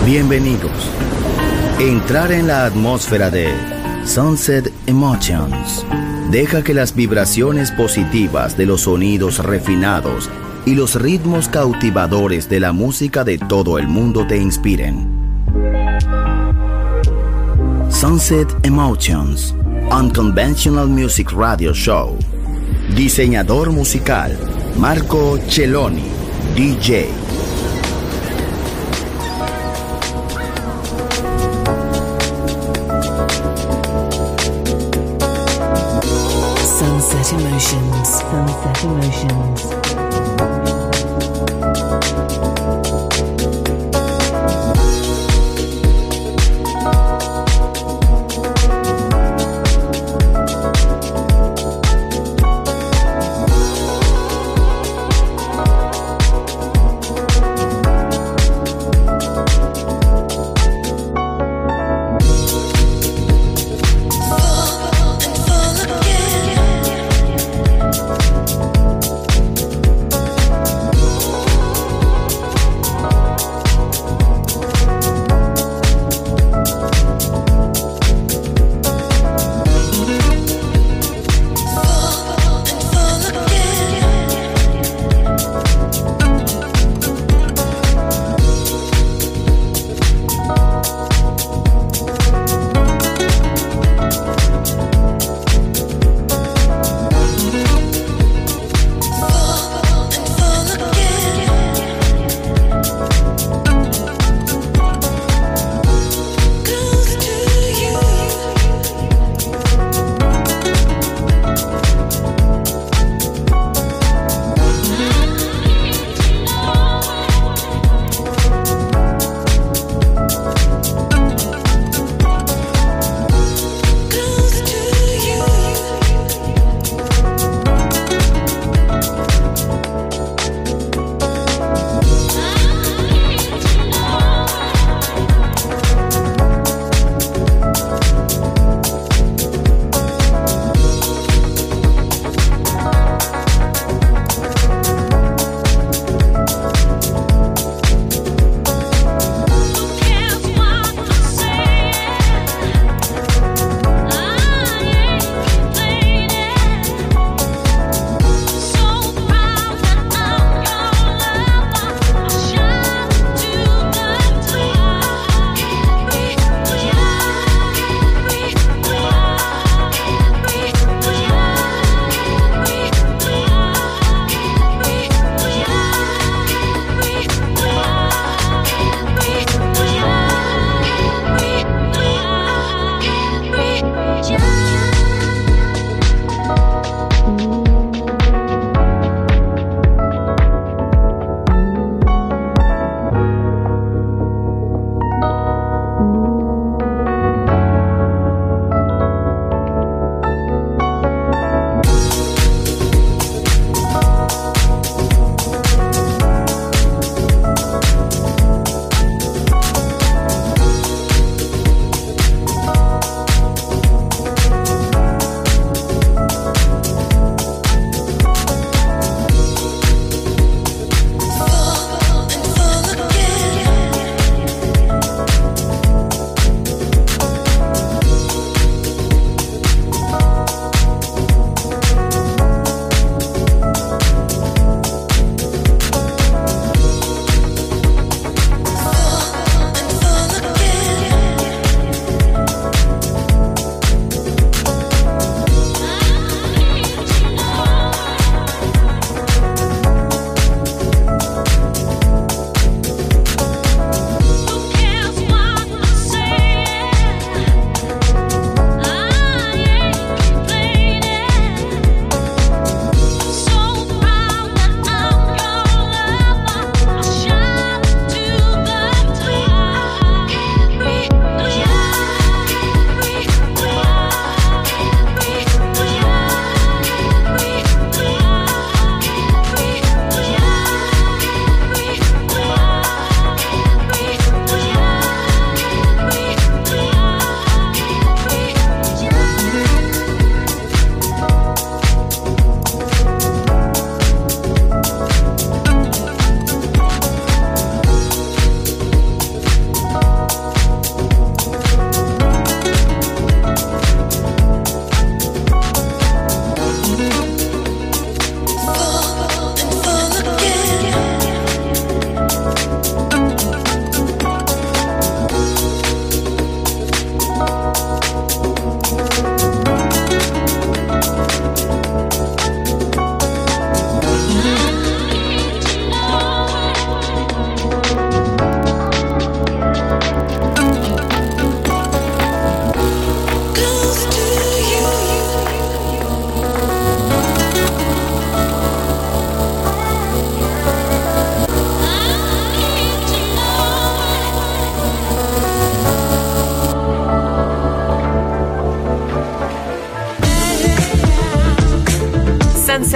Bienvenidos. Entrar en la atmósfera de Sunset Emotions. Deja que las vibraciones positivas de los sonidos refinados y los ritmos cautivadores de la música de todo el mundo te inspiren. Sunset Emotions, Unconventional Music Radio Show. Diseñador musical, Marco Celloni, DJ. Sunset Emotions. Sunset Emotions.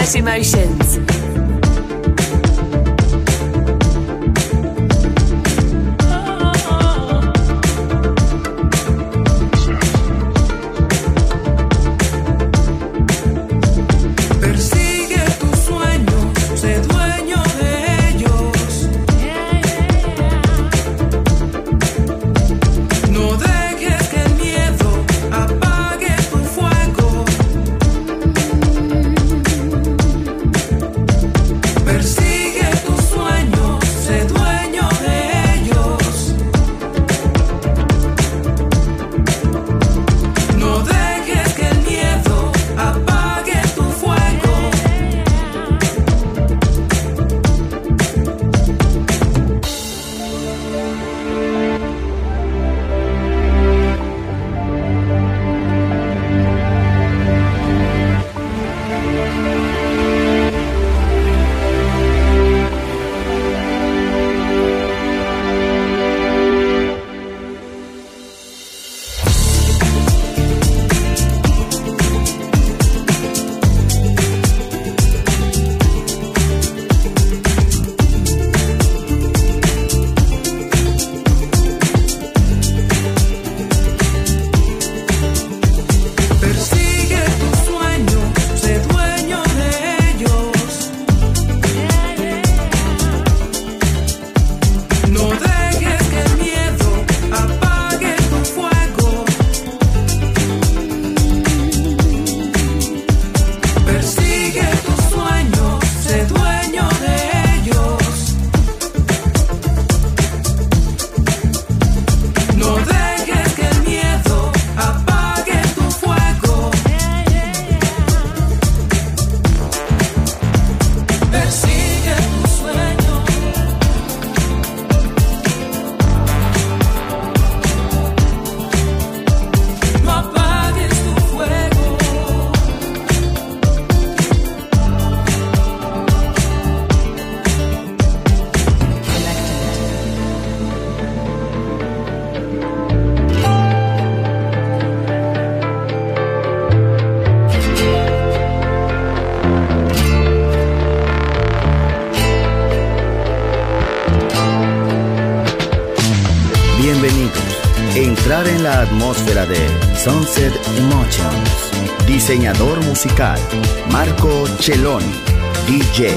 Sunset Emotions. Entrar en la atmósfera de Sunset Emotions. Diseñador musical Marco Celloni, DJ.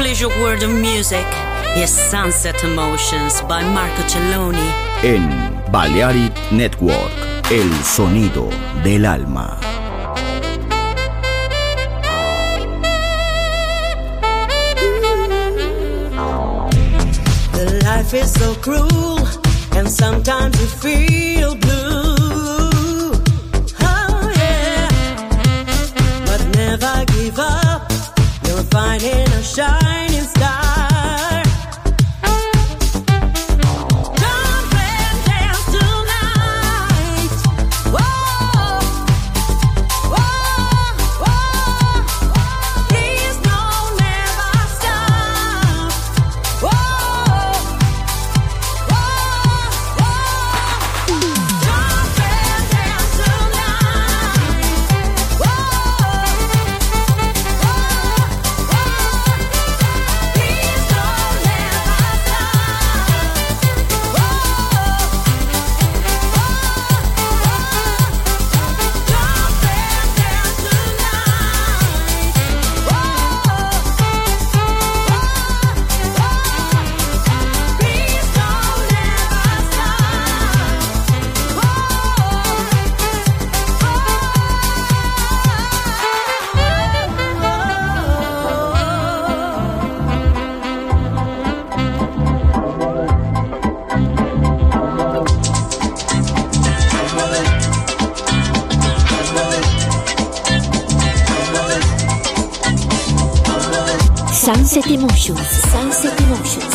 pleasure world of music. Yes, Sunset Emotions by Marco Celloni. En Balearic Network, el sonido del alma. The life is so cruel, and sometimes you feel blue. Oh yeah, but never give up. You're finding a shining star. Jump and dance tonight. Whoa, whoa, whoa. Please don't never stop. Whoa, whoa, whoa. Jump and dance tonight. Sunset Emotions. Sunset Emotions.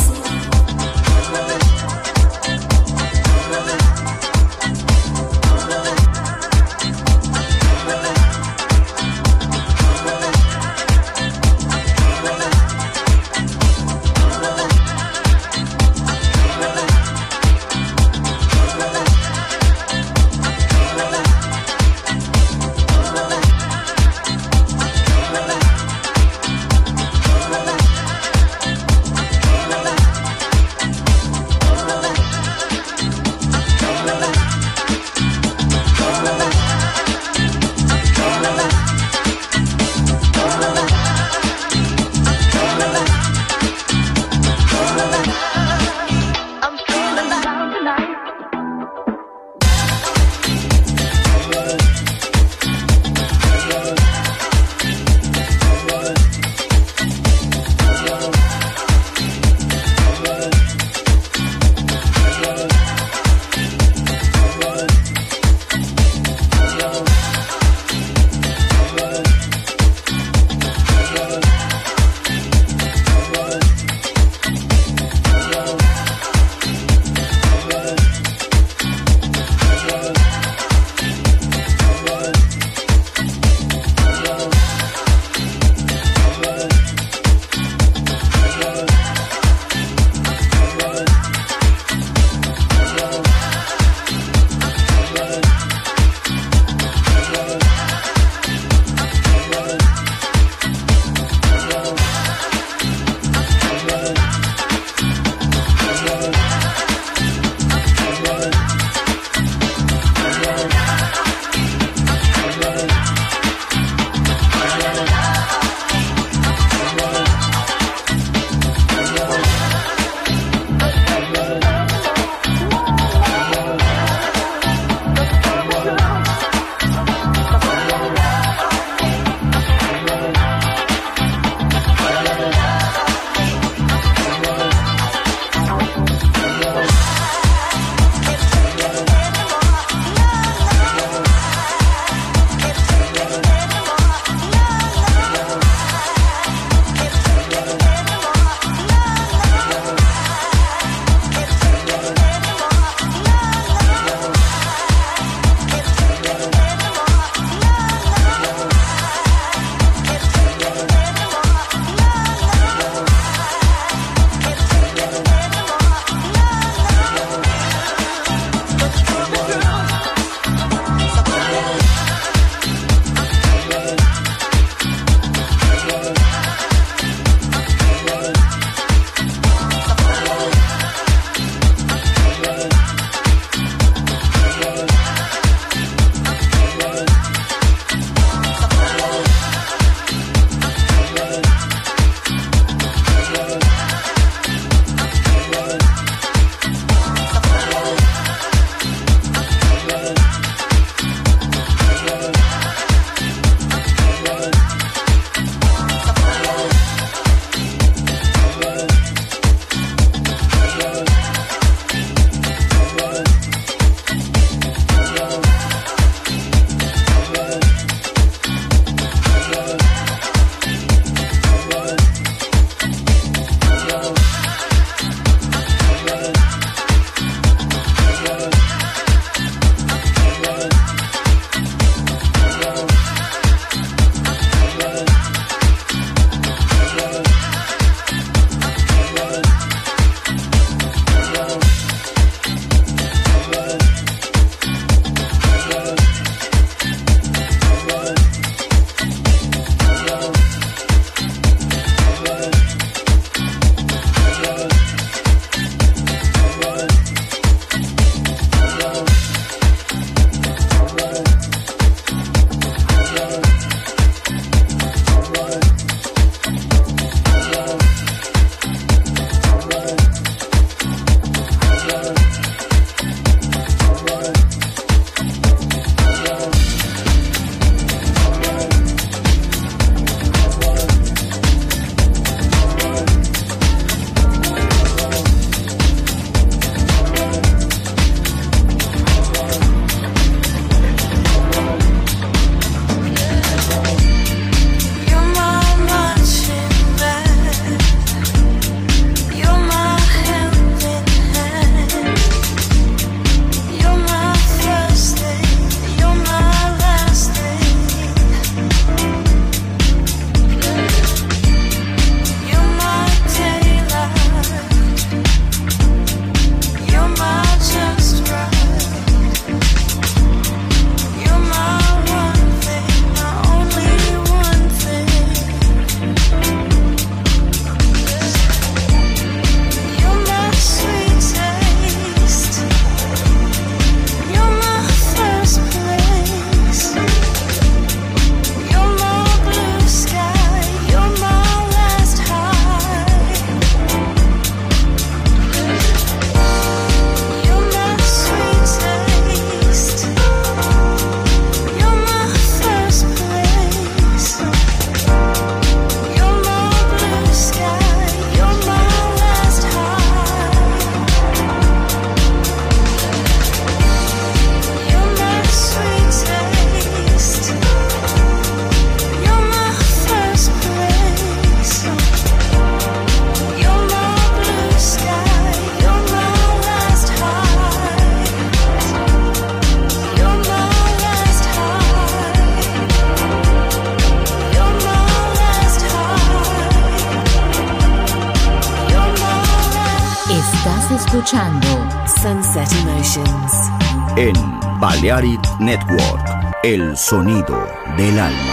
ascoltando Sunset Emotions en Balearic Network, el sonido del alma.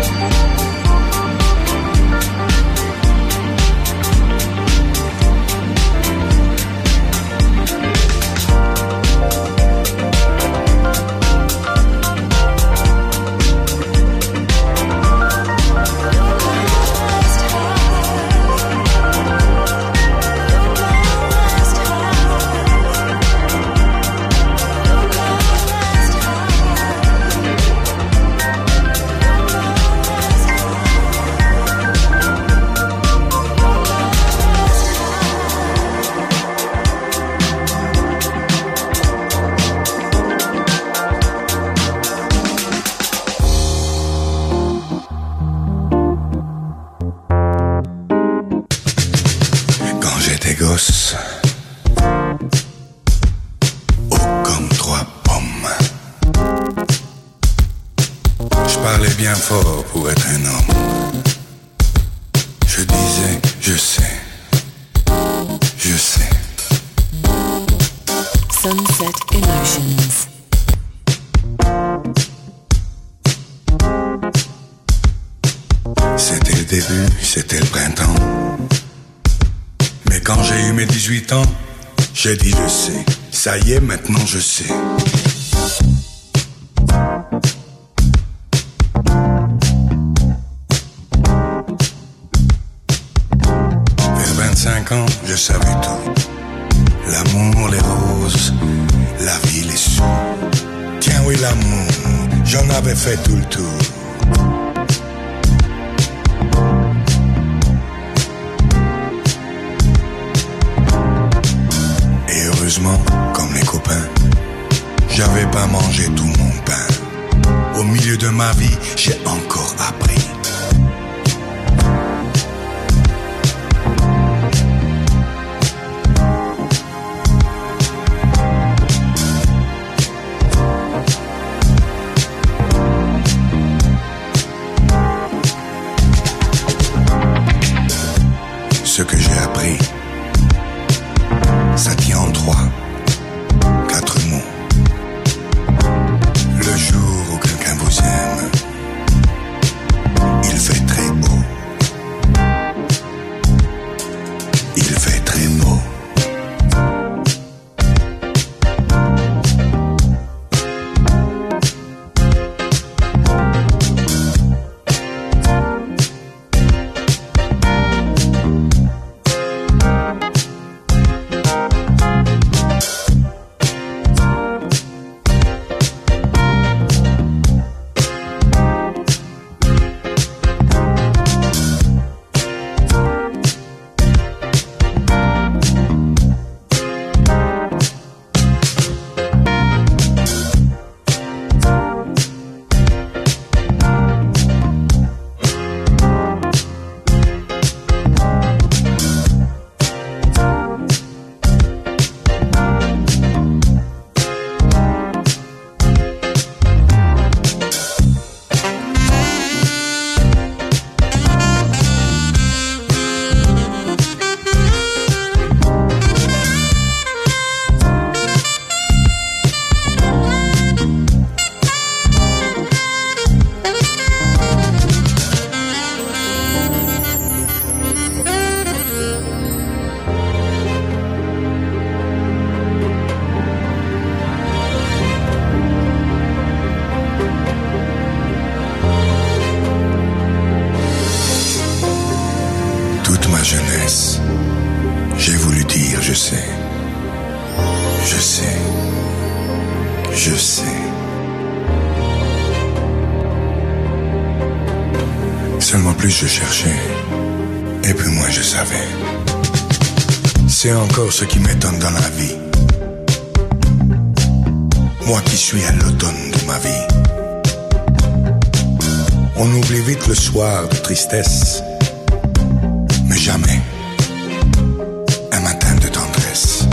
Fort pour être un homme. Je disais, je sais. Sunset Emotions. C'était le début, c'était le printemps. Mais quand j'ai eu mes 18 ans, j'ai dit je sais. Ça y est, maintenant je sais. Je savais tout. L'amour, les roses, la vie, les sous. Tiens oui, l'amour, j'en avais fait tout le tour. Et heureusement, comme les copains, j'avais pas mangé tout mon pain. Au milieu de ma vie, j'ai encore appris. Ce que j'ai appris, ça tient en 4 mots. Le jour où quelqu'un vous aime, il fait très beau. Il fait très beau. J'ai voulu dire je sais. Seulement plus je cherchais, et plus moins je savais. C'est encore ce qui m'étonne dans la vie. Moi qui suis à l'automne de ma vie. On oublie vite le soir de tristesse, mais jamais un matin de tendresse.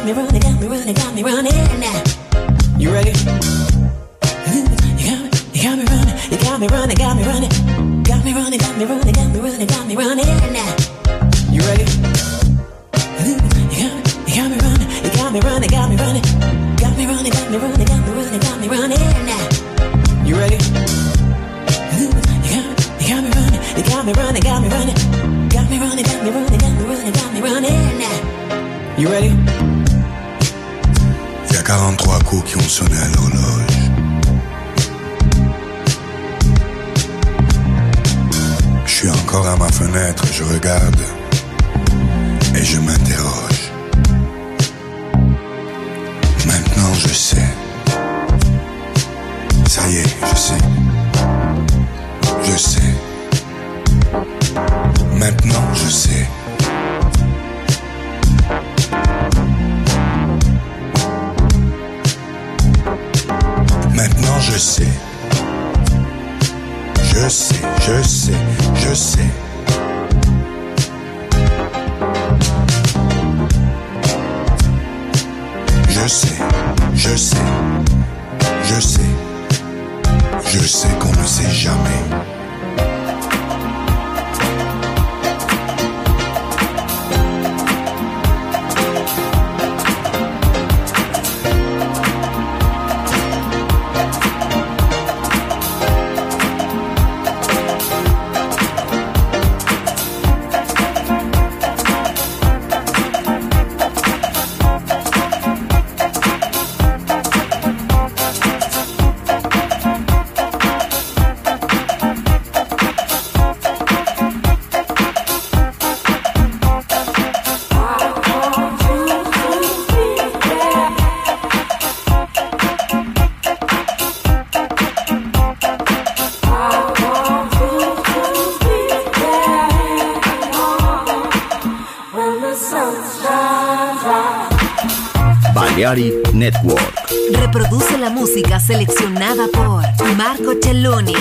got me running, got me running, got me running. You ready? You got me running, you got me running, got me running. Got me running, got me running, got me running, got me running. You ready? You got me running, you got me running, got me running. Got me running, got me running, got me running, got me running. You ready? You got me running, you got me running, got me running. Got me running, got me running, got me running, got me running. You ready? Il y a 43 coups qui ont sonné à l'horloge. Je suis encore à ma fenêtre, je regarde et je m'interroge. Maintenant je sais. Ça y est, je sais. Je sais. Maintenant je sais. Maintenant je sais. Je sais, je sais, je sais. Je sais, je sais, je sais. Je sais qu'on ne sait jamais. Balearic Network. Reproduce la música seleccionada por Marco Celloni.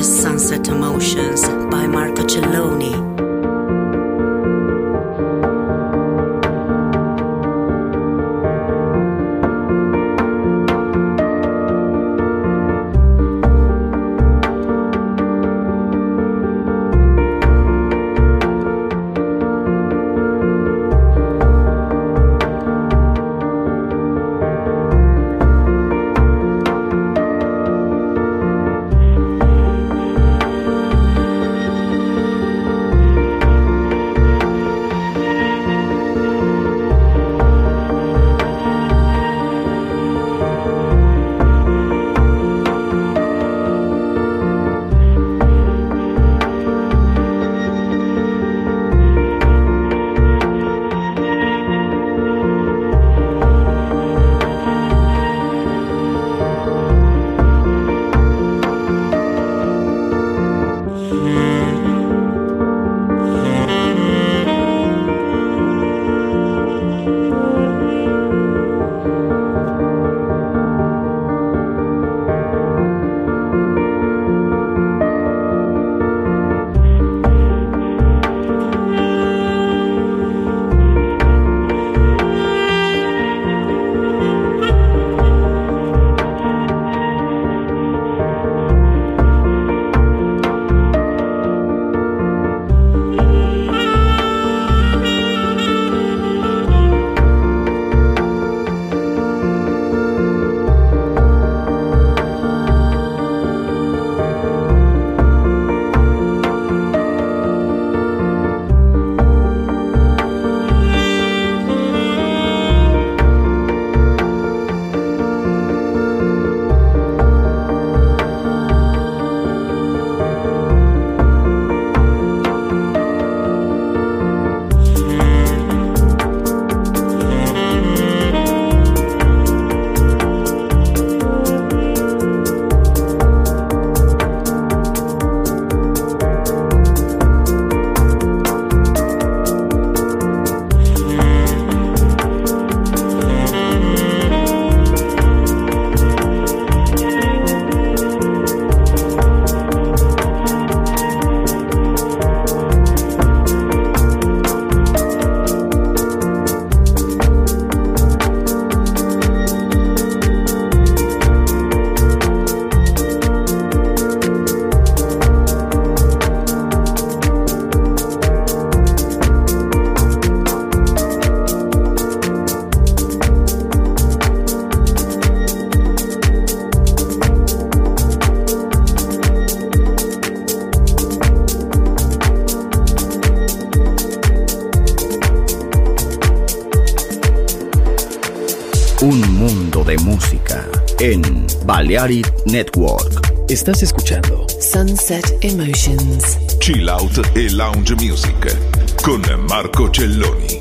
Sunset Emotions by Marco Celloni. Un mundo de música en Balearic Network. Estás escuchando Sunset Emotions. Chill Out e Lounge Music con Marco Celloni.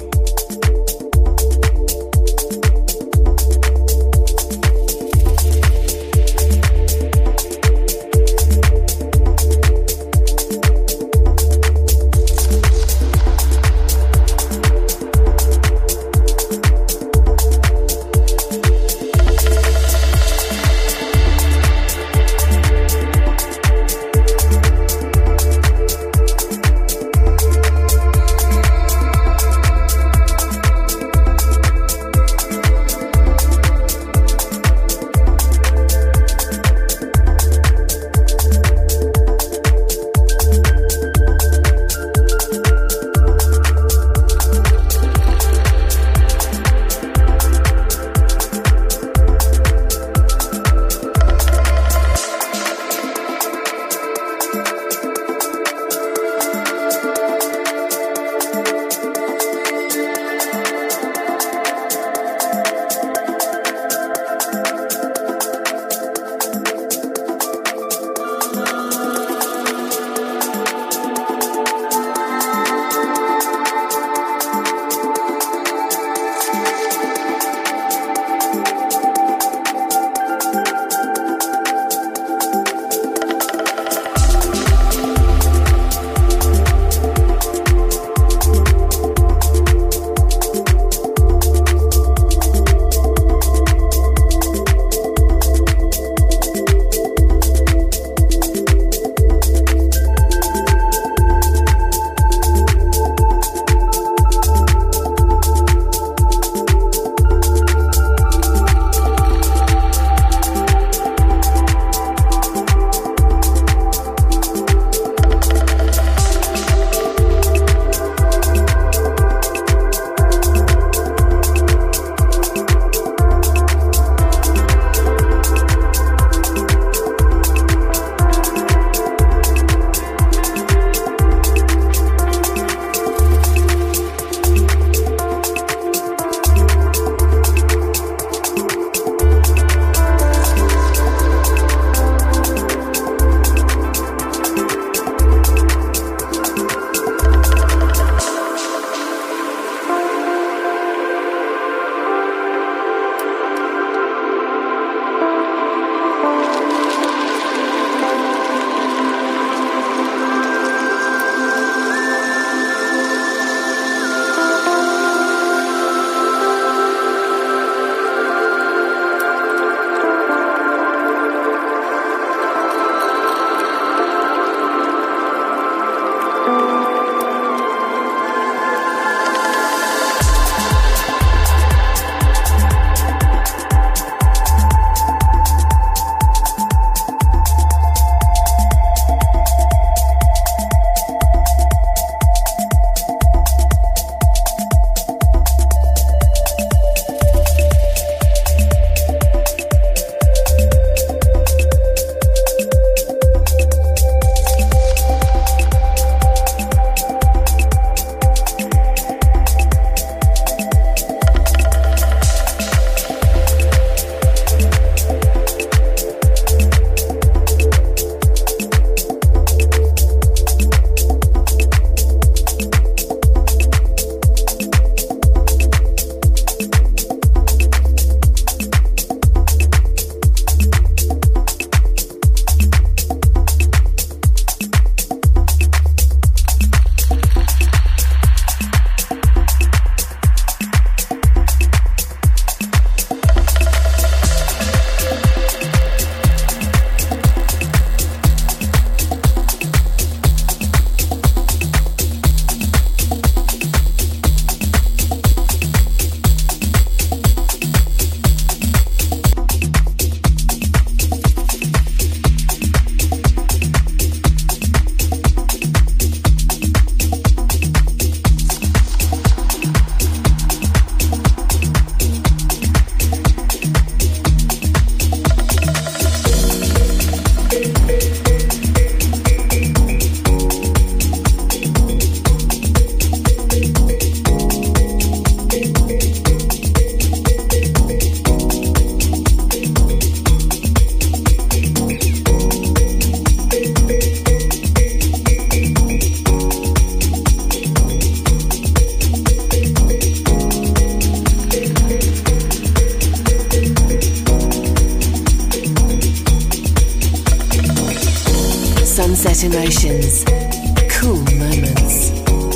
Sunset Emotions. Cool moments.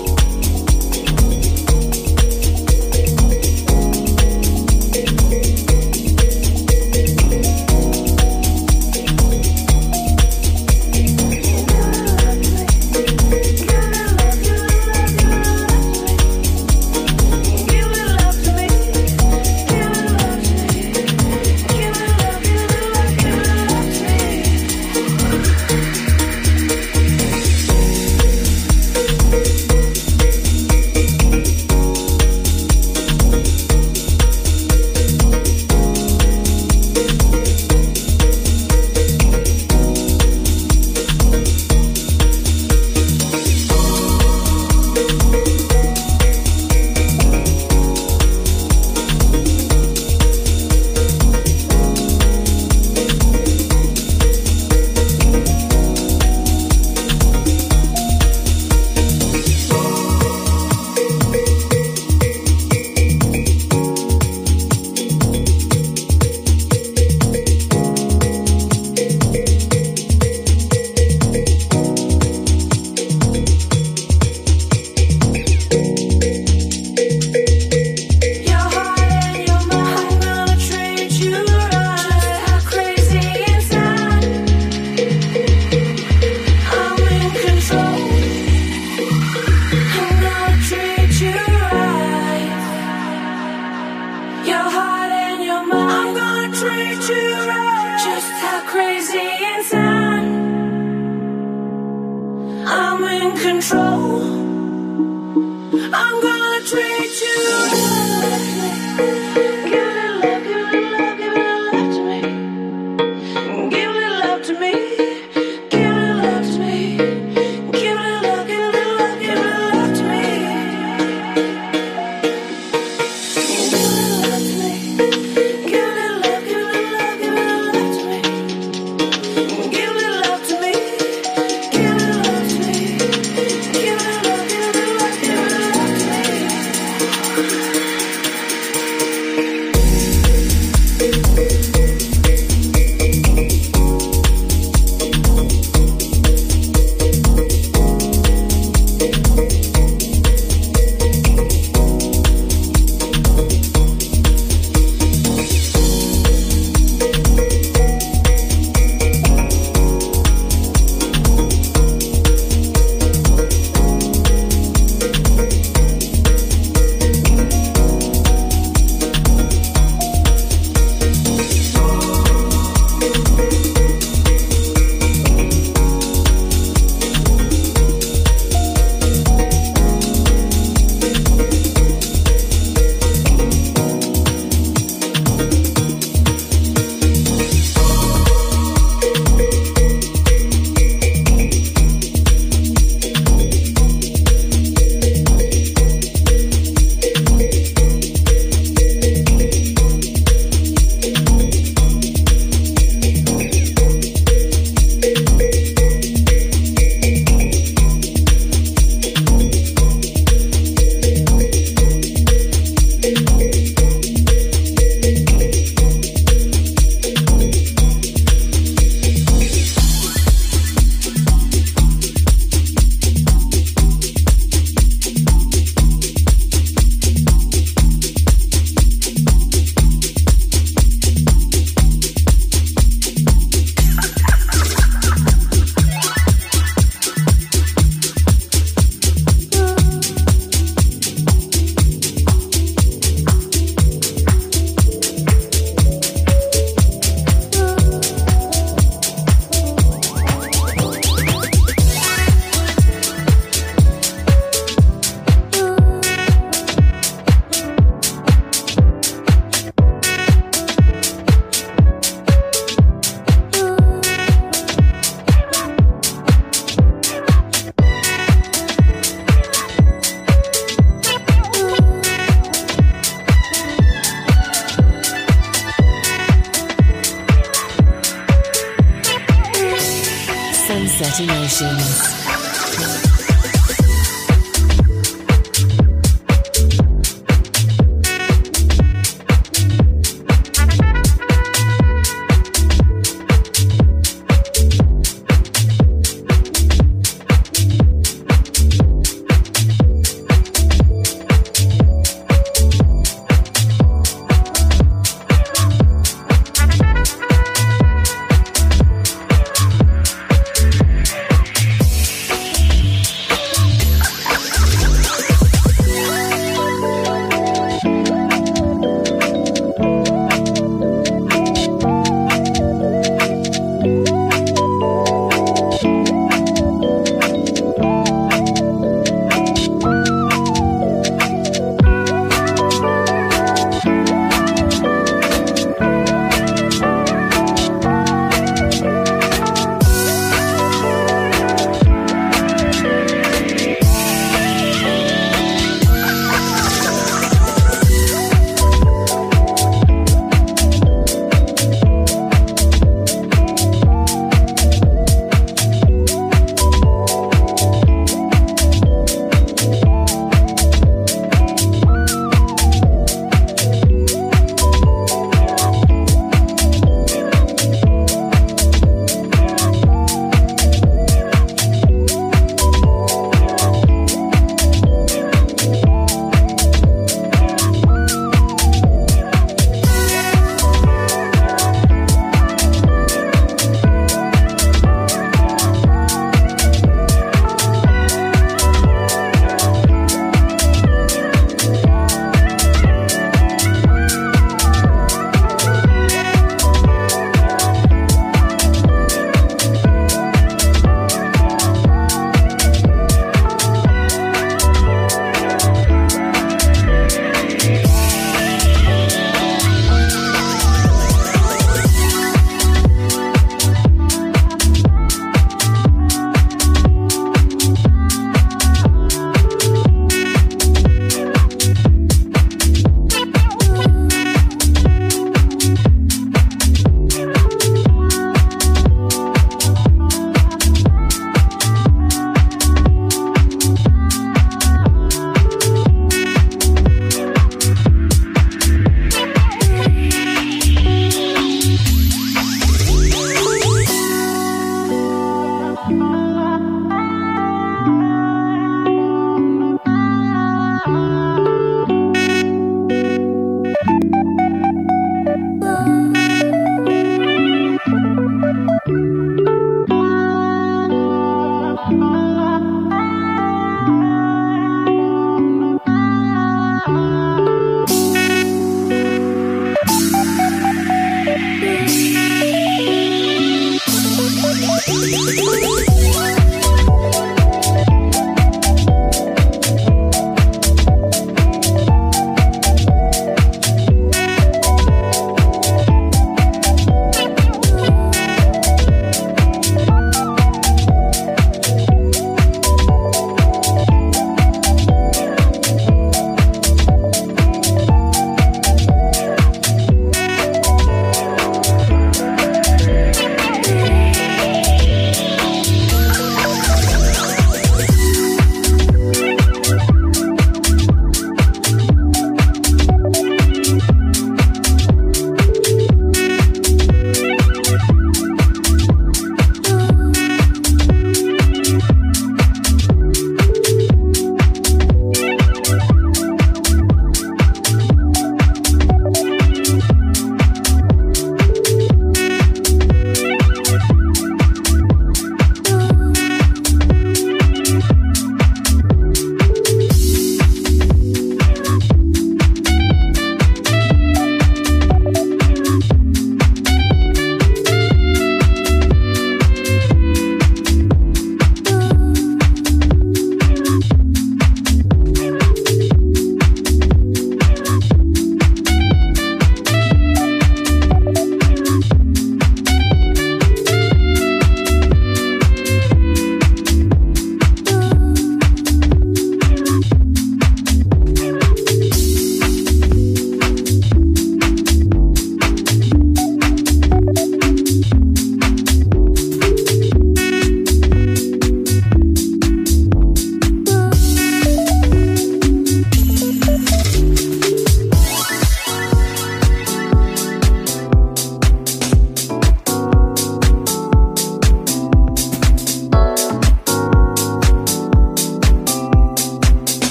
Sunset Emotions.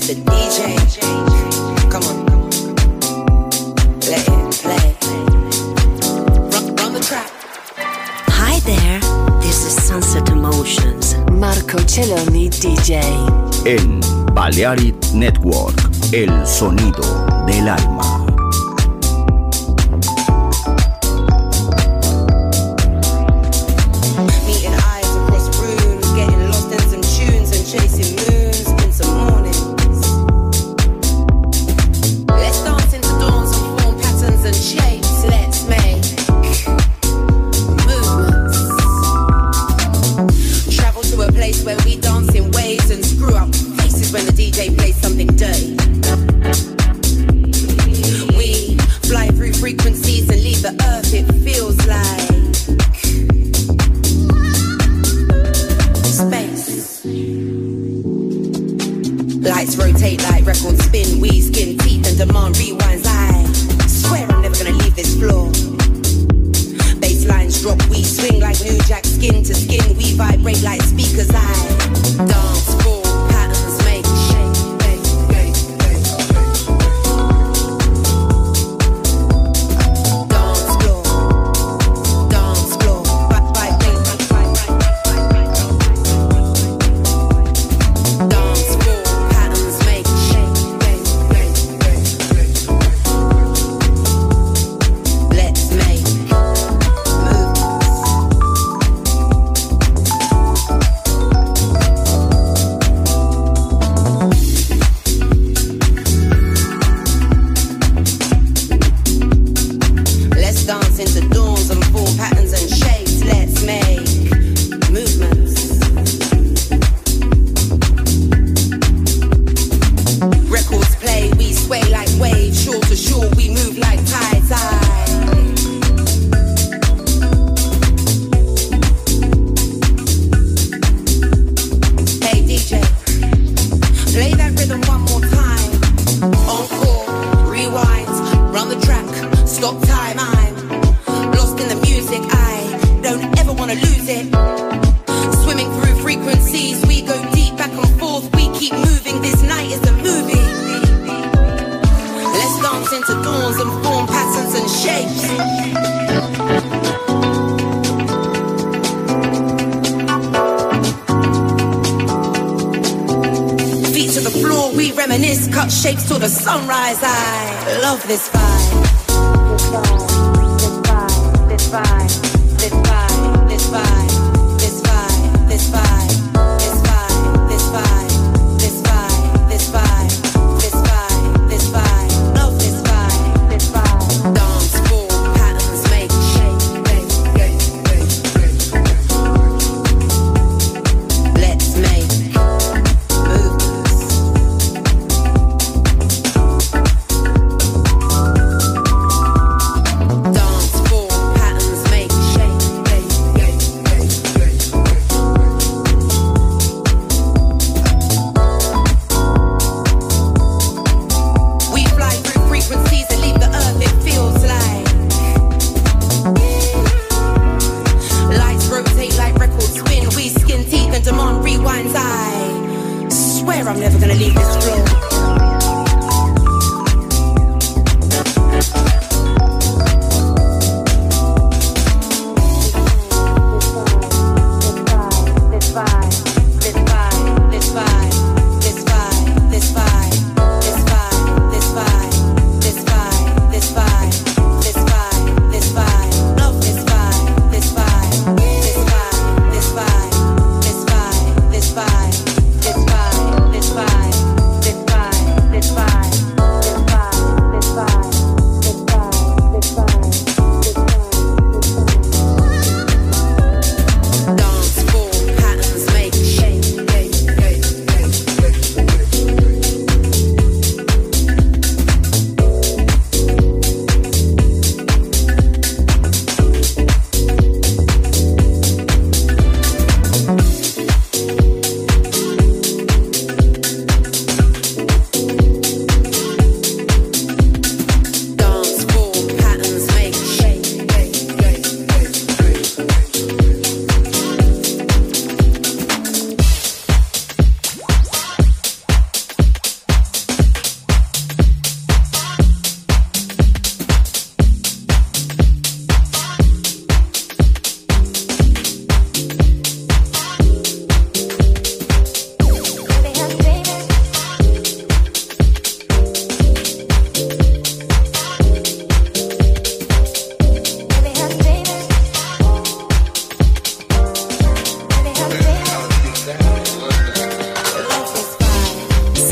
Mr. DJ. Come on. Let it play. Run the track. Hi there, this is Sunset Emotions. Marco Celloni DJ. En Balearic Network, el sonido del alma. Meeting eyes across rooms, getting lost in some tunes and chasing moons in some mornings. Let's dance into dawns and form patterns and shapes. Let's make movements. Travel to a place where we dance in waves and screw up faces when the DJ plays something dirty. We fly through frequencies and leave the earth, it feels like space. Lights rotate like records spin, we skin teeth and demand rewinds. I swear I'm never gonna leave this floor. Bass lines drop, we swing like New Jack, skin to skin, we vibrate like speakers. I dance for patterns, make shape. Dance floor, vibrate. Dance floor, patterns, make shape. Let's make let's dance into dawns and form patterns and shapes. Let's make movements. Records play, we sway like waves. Shore to shore, we move like tides. Hey DJ, play that rhythm one more time. Encore, rewind, run the track, stop time. I'm lost in the music, I don't ever wanna lose it. Swimming through frequencies, we go deep back and forth, we keep moving, this night is a movie. Let's dance into dawns and form patterns and shapes. Feet to the floor, we reminisce, cut shapes till the sunrise. I love this vibe. This vibe, this vibe, this vibe, this vibe, this vibe, this vibe, this vibe, this vibe, this vibe, this vibe, this vibe, love this vibe, this vibe. Dance for patterns, make shape. Let's make movements. Dance for patterns, make shape.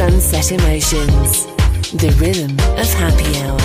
Sunset Emotions, the rhythm of happy hour.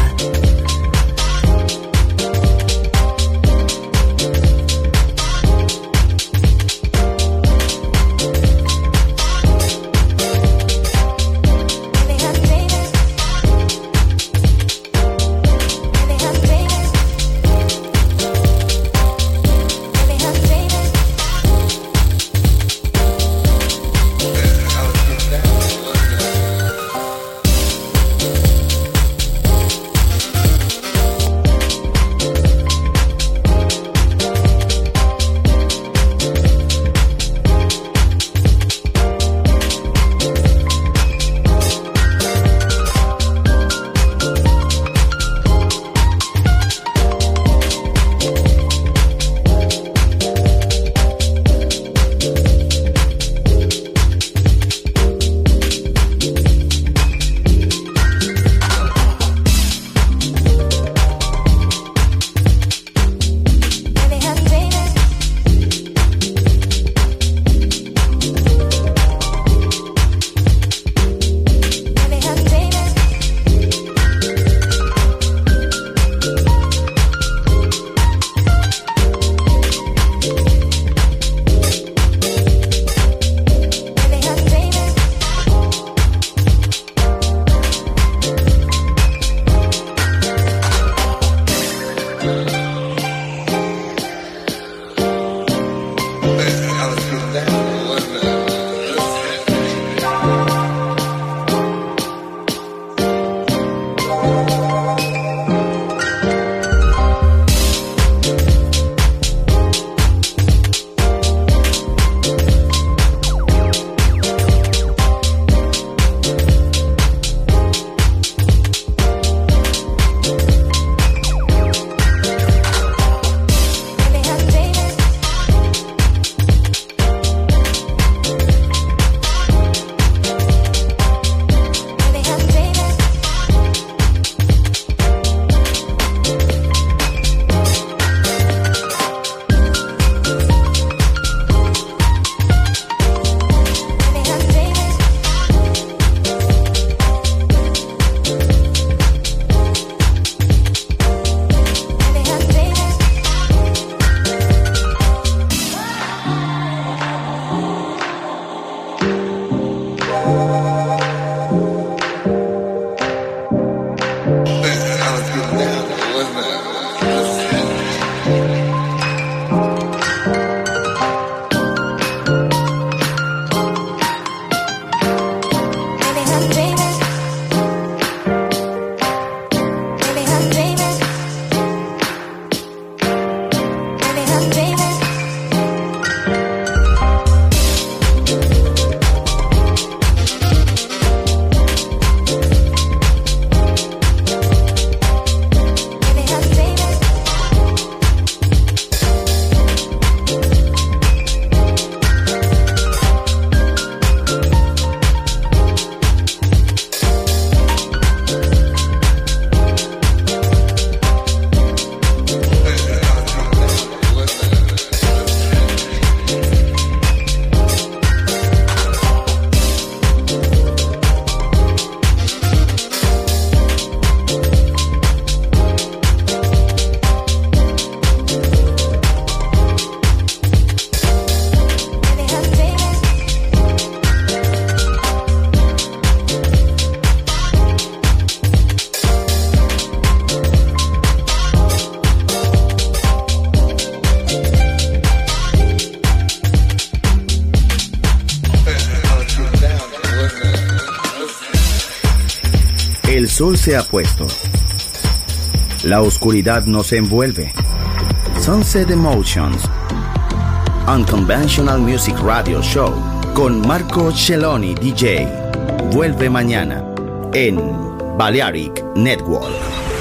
El sol se ha puesto. La oscuridad nos envuelve. Sunset Emotions, Unconventional Music Radio Show con Marco Celloni DJ. Vuelve mañana en Balearic Network.